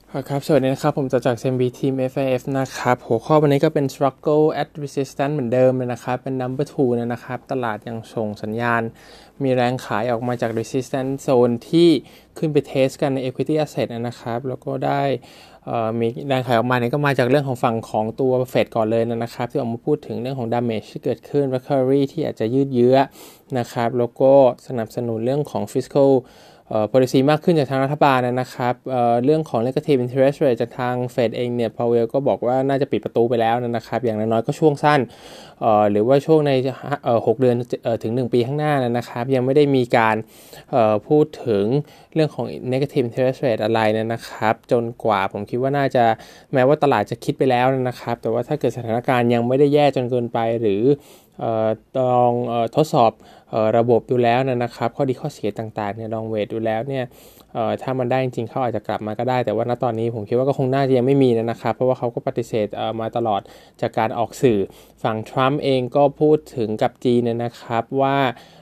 ครับสวัสดีนะครับผมจาก CMB Team FIF นะครับหัวข้อวันนี้ก็เป็น struggle at resistance เหมือนเดิมเลยนะครับเป็น number 2นะครับตลาดยังส่งสัญญาณมีแรงขายออกมาจาก resistance zone ที่ขึ้นไปเทสกันใน equity asset นะครับแล้วก็ได้มีแรงขายออกมาเนี่ยก็มาจากเรื่องของฝั่งของตัวเฟดก่อนเลยนะครับที่ออกมาพูดถึงเรื่องของ damage ที่เกิดขึ้น recovery ที่อาจจะยืดเยื้อนะครับแล้วก็สนับสนุนเรื่องของ fiscal policy มากขึ้นจากทางรัฐบาลนะครับเรื่องของ negative interest rate จากทางเฟดเองเนี่ยพาวเวลก็บอกว่าน่าจะปิดประตูไปแล้วนะครับอย่างน้อยๆก็ช่วงสั้นหรือว่าช่วงใน6 เดือนถึง1 ปีข้างหน้านะครับยังไม่ได้มีการพูดถึงเรื่องของ negative interest rate อะไรนะครับจนกว่าผมคิดว่าน่าจะแม้ว่าตลาดจะคิดไปแล้วนะครับแต่ว่าถ้าเกิดสถานการณ์ยังไม่ได้แย่จนเกินไปหรือลองทดสอบระบบดูแล้วนะครับข้อดีข้อเสียต่างๆเนี่ยลองเวทดูแล้วเนี่ยถ้ามันได้จริงๆเขาอาจจะกลับมาก็ได้แต่ว่าณตอนนี้ผมคิดว่าก็คงน่าจะยังไม่มีนะครับเพราะว่าเขาก็ปฏิเสธมาตลอดจากการออกสื่อฝั่งทรัมป์เองก็พูดถึงกับจีนนะครับว่า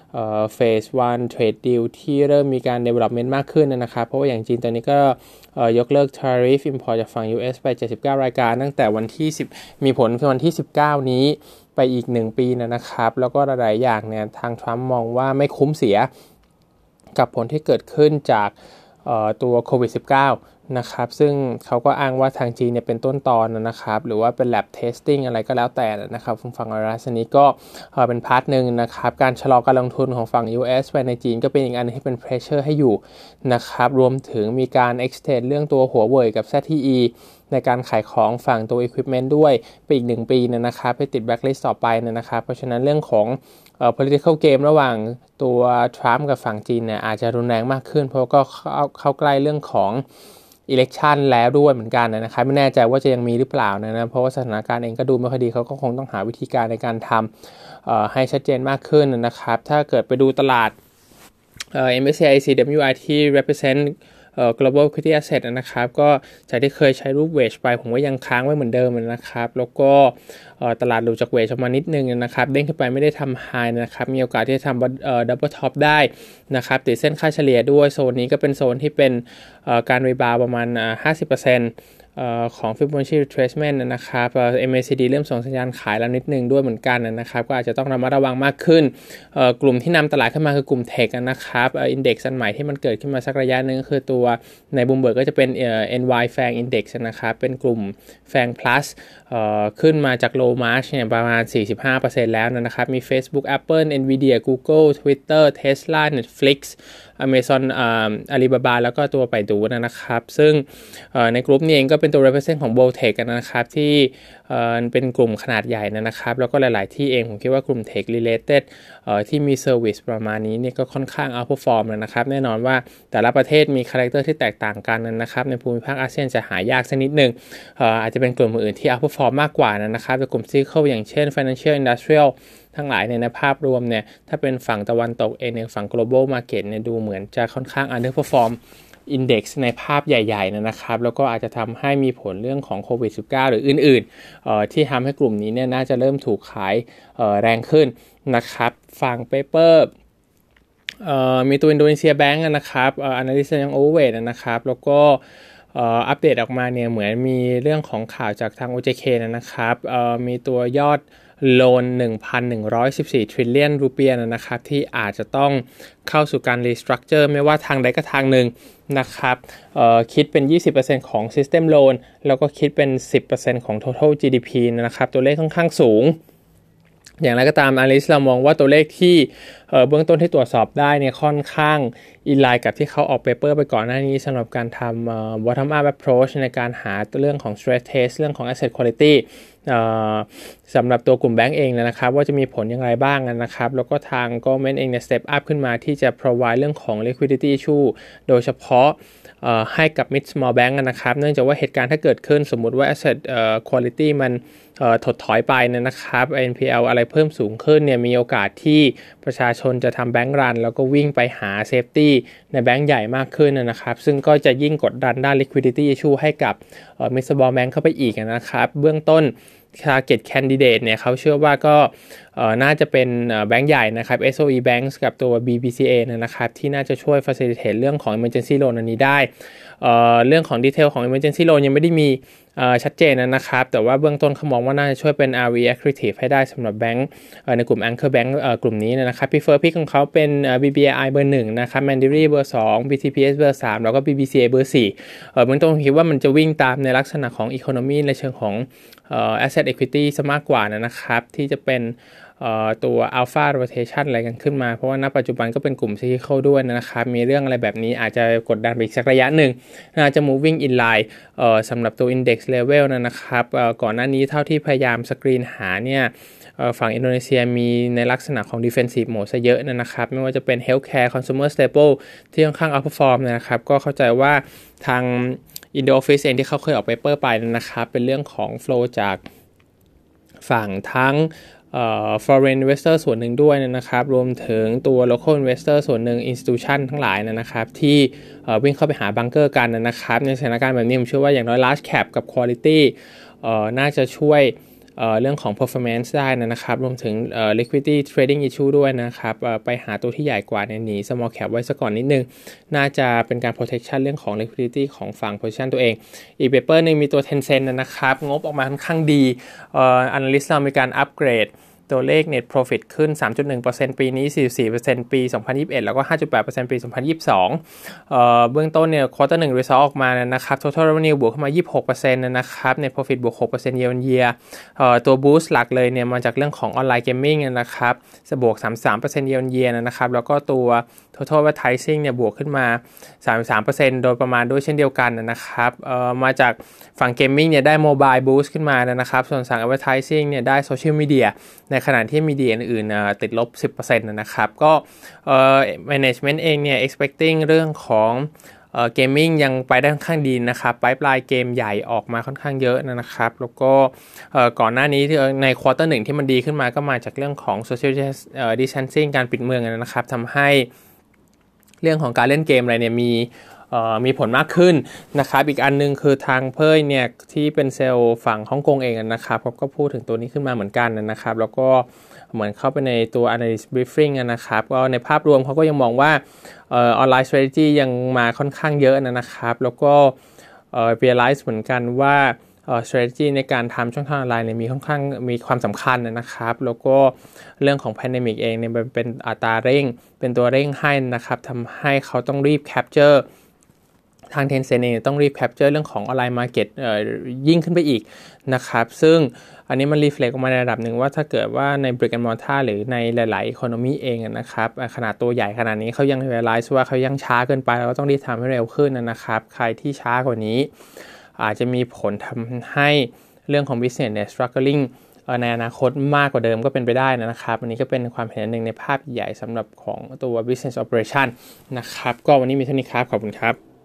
phase 1 trade deal ที่เริ่มมีการ development มากขึ้นนะครับเพราะว่าอย่างจีนตอนนี้ก็ยกเลิก tariff import จากฝั่ง US ไป79 รายการตั้งแต่วันที่10มีผลวันที่19นี้ไปอีก1 ปีนะครับแล้วก็หลายๆอย่างเนี่ยทางทรัมป์มองว่าไม่คุ้มเสียกับผลที่เกิดขึ้นจากตัวโควิด -19 นะครับซึ่งเขาก็อ้างว่าทางจีนเนี่ยเป็นต้นตอนนะครับหรือว่าเป็น lab testing อะไรก็แล้วแต่นะครับฝั่งรัสนี้ก็เป็นพาร์ทนึงนะครับการชะลอการลงทุนของฝั่ง US ไปในจีนก็เป็นอีกอันที่เป็น pressure ให้อยู่นะครับรวมถึงมีการ extend เรื่องตัวหัวเว่ยกับ ZTE ในการขายของฝั่งตัว equipment ด้วยไปอีก1 ปีนะครับไปติด blacklist ต่อไปนะครับเพราะฉะนั้นเรื่องของpolitical game ระหว่างตัวทรัมป์กับฝั่งจีนเนี่ยอาจจะรุนแรงมากขึ้นเพราะก็เข้าใกล้เรื่องของ election แล้วด้วยเหมือนกันนะครับไม่แน่ใจว่าจะยังมีหรือเปล่านะเพราะว่าสถานการณ์เองก็ดูไม่ค่อยดีเขาก็คงต้องหาวิธีการในการทำให้ชัดเจนมากขึ้นนะครับถ้าเกิดไปดูตลาดMSCI CWI ที่ represent global equity asset นะครับก็จากที่เคยใช้รูปเวจไปผมก็ยังค้างไว้เหมือนเดิมนะครับแล้วก็ตลาดหลุดจากเวจออกมานิดนึงนะครับเด้งขึ้นไปไม่ได้ทำ high นะครับมีโอกาสที่จะทำdouble top ได้นะครับติดเส้นค่าเฉลี่ยด้วยโซนนี้ก็เป็นโซนที่เป็นการรีบาวประมาณ 50%ของ Fibonacci retracement นะครับ MACD เริ่มส่งสัญญาณขายแล้วนิดนึงด้วยเหมือนกันนะครับก็อาจจะต้องระมัดระวังมากขึ้นกลุ่มที่นำตลาดขึ้นมาคือกลุ่มเทคนะครับอินเด็กซ์อันใหม่ที่มันเกิดขึ้นมาสักระยะนึงก็คือตัวในบูมเบิร์กก็จะเป็น NY FANG Index นะครับเป็นกลุ่ม FANG Plus ขึ้นมาจาก low March เนี่ยประมาณ 45% แล้วนะครับมี Facebook Apple Nvidia Google Twitter Tesla Netflix Amazon Alibaba แล้วก็ตัวไปดูนะครับซึ่งในกลุ่มนี้เองก็เป็นตัว represent ของ Boltech นะครับที่เป็นกลุ่มขนาดใหญ่นะครับแล้วก็หลายๆที่เองผมคิดว่ากลุ่ม Tech related ที่มี service ประมาณนี้เนี่ยก็ค่อนข้าง outperform นะครับแน่นอนว่าแต่ละประเทศมี character ที่แตกต่างกันนะครับในภูมิภาคอาเซียนจะหายากสักนิดนึงอาจจะเป็นกลุ่มอื่นที่ outperform มากกว่านะครับแต่กลุ่ม cyclical อย่างเช่น financial industrial ทั้งหลายในภาพรวมเนี่ยถ้าเป็นฝั่งตะวันตกเองในฝั่ง global market เนี่ยดูเหมือนจะค่อนข้าง underperform index ในภาพใหญ่ๆนะครับแล้วก็อาจจะทำให้มีผลเรื่องของโควิด -19 หรืออื่นๆที่ทำให้กลุ่มนี้เนี่ยน่าจะเริ่มถูกขายแรงขึ้นนะครับฝั่ง paper มีตัวอินโดนีเซียแบงก์นะครับanalyst ยัง overweight นะครับแล้วก็อัปเดตออกมาเนี่ยเหมือนมีเรื่องของข่าวจากทาง OJK นะครับมีตัวยอดโลน 1,114 trillion รูเปียนะครับที่อาจจะต้องเข้าสู่การ restructure ไม่ว่าทางใดก็ทางหนึ่งนะครับคิดเป็น 20% ของ system loan แล้วก็คิดเป็น 10% ของ total GDP นะครับตัวเลขค่อนข้างสูงอย่างไรก็ตามanalyst เรามองว่าตัวเลขที่เบื้องต้นที่ตรวจสอบได้เนี่ยค่อนข้างอินไลน์กับที่เขาออกเปเปอร์ไปก่อนหน้านี้สำหรับการทำbottom up approach ในการหาเรื่องของ stress test เรื่องของ asset quality สำหรับตัวกลุ่มแบงก์เองนะครับว่าจะมีผลอย่างไรบ้างนะครับแล้วก็ทาง government เองเนี่ย step up ขึ้นมาที่จะ provide เรื่องของ liquidity issue โดยเฉพาะให้กับ mid small bank นะครับเนื่องจากว่าเหตุการณ์ถ้าเกิดขึ้นสมมุติว่า asset quality มันถดถอยไปนะครับ NPL อะไรเพิ่มสูงขึ้นเนี่ยมีโอกาสที่ประชาชนจะทำแบงก์รันแล้วก็วิ่งไปหา safety ในแบงก์ใหญ่มากขึ้นนะครับซึ่งก็จะยิ่งกดดันด้าน liquidity issue ให้กับmid small bank เข้าไปอีกนะครับเบื้องต้นtarget candidate เนี่ยเขาเชื่อว่าก็น่าจะเป็นแบงก์ใหญ่นะครับ SOE Banks กับตัว BBCA นะครับที่น่าจะช่วย facilitate เรื่องของ emergency loan อันนี้ได้เรื่องของดีเทลของ emergency loan ยังไม่ได้มีชัดเจนนะครับแต่ว่าเบื้องต้นเขามองว่าน่าจะช่วยเป็น ROE accretive ให้ได้สำหรับแบงก์ในกลุ่ม Anchor Bank กลุ่มนี้นะครับ Preferred Pick ของเขาเป็น BBAI เบอร์1นะครับ Mandiri เบอร์2 BTPS เบอร์3แล้วก็ BBCA เบอร์4เบื้องต้นคิดว่ามันจะวิ่งตามในลักษณะของ economy ในเชิงของasset equity ซะมากกว่านะครับที่จะเป็นตัว alpha rotation อะไรกันขึ้นมาเพราะว่าณปัจจุบันก็เป็นกลุ่ม cyclical ด้วยนะครับมีเรื่องอะไรแบบนี้อาจจะกดดันไปอีกสักระยะหนึ่งน่าจะ moving in line สำหรับตัว index level นะครับก่อนหน้านี้เท่าที่พยายามสกรีนหาเนี่ยฝั่งอินโดนีเซียมีในลักษณะของ defensive mode ซะเยอะนะครับไม่ว่าจะเป็น healthcare consumer staple ที่ค่อนข้าง outperform นะครับก็เข้าใจว่าทาง Indo Office เองที่เขาเคยออกเปเปอร์ไปนะครับเป็นเรื่องของ flow จากฝั่งทั้งforeign investor ส่วนหนึ่งด้วยนะครับรวมถึงตัว local investor ส่วนหนึ่ง institution ทั้งหลายนะครับที่วิ่งเข้าไปหาบังเกอร์กันนะครับในสถานการณ์แบบนี้ผมเชื่อว่าอย่างน้อย large cap กับ quality น่าจะช่วยเรื่องของ performance ได้นะครับรวมถึงliquidity trading issue ด้วยนะครับไปหาตัวที่ใหญ่กว่าหนี small cap ไว้ซะก่อนนิดนึงน่าจะเป็นการ protection เรื่องของ liquidity ของฝั่ง position ตัวเองอีก paper นึงมีตัว Tencent นะครับงบออกมาค่อนข้างดีanalyst เรามีการ upgrade ตัวเลข net profit ขึ้น 3.1% ปีนี้ 44% ปี 2021 แล้วก็ 5.8% ปี 2022เบื้องต้นเนี่ย quarter 1 result ออกมานะครับ total revenue บวกขึ้นมา 26% นะครับ net profit บวก 6% year on year ตัว boost หลักเลยเนี่ยมาจากเรื่องของ online gaming นะครับจะบวก 33% year on year นะครับแล้วก็ตัว total advertising เนี่ยบวกขึ้นมา 33% โดยประมาณด้วยเช่นเดียวกันนะครับมาจากฝั่ง gaming เนี่ยได้ mobile boost ขึ้นมานะครับส่วนฝั่ง advertising เนี่ยได้ social media ในขณะที่มีดีอื่นๆติดลบ 10% นะครับก็management เองเนี่ย expecting เรื่องของgaming ยังไปได้ค่อนข้างดีนะครับไพป์ไลน์เกมใหญ่ออกมาค่อนข้างเยอะนะครับแล้วก็ก่อนหน้านี้ที่ในควอเตอร์1ที่มันดีขึ้นมาก็มาจากเรื่องของ social distancing การปิดเมืองนะครับทำให้เรื่องของการเล่นเกมอะไรเนี่ยมีผลมากขึ้นนะครับอีกอันนึงคือทางเพ่ยเนี่ยที่เป็นเซลล์ฝั่งฮ่องกงเองนะครับก็พูดถึงตัวนี้ขึ้นมาเหมือนกันนะครับแล้วก็เหมือนเข้าไปในตัว analyst briefing นะครับก็ในภาพรวมเขาก็ยังมองว่าonline strategy ยังมาค่อนข้างเยอะนะครับแล้วก็realize เหมือนกันว่าstrategy ในการทำช่องทางออนไลน์เนี่ยค่อนข้างมีความสำคัญนะครับแล้วก็เรื่องของ pandemic เองเนี่ยเป็นอัตราเร่งเป็นตัวเร่งให้นะครับทำให้เขาต้องรีบ captureทาง Tencent เองต้องรีบ capture เรื่องของออนไลน์ market ยิ่งขึ้นไปอีกนะครับซึ่งอันนี้มัน reflect ออกมาในระดับหนึ่งว่าถ้าเกิดว่าใน brick and mortar หรือในหลายๆ economy เองนะครับขนาดตัวใหญ่ขนาดนี้เขายัง realize ว่าเขายังช้าเกินไปแล้วก็ต้องรีบทำให้เร็วขึ้นนะครับใครที่ช้ากว่านี้อาจจะมีผลทำให้เรื่องของ business เนี่ย struggling ในอนาคตมากกว่าเดิมก็เป็นไปได้นะครับอันนี้ก็เป็นความเห็นหนึ่งในภาพใหญ่สำหรับของตัว business operation นะครับก็วันนี้มีเท่านี้ครับขอบคุณครับ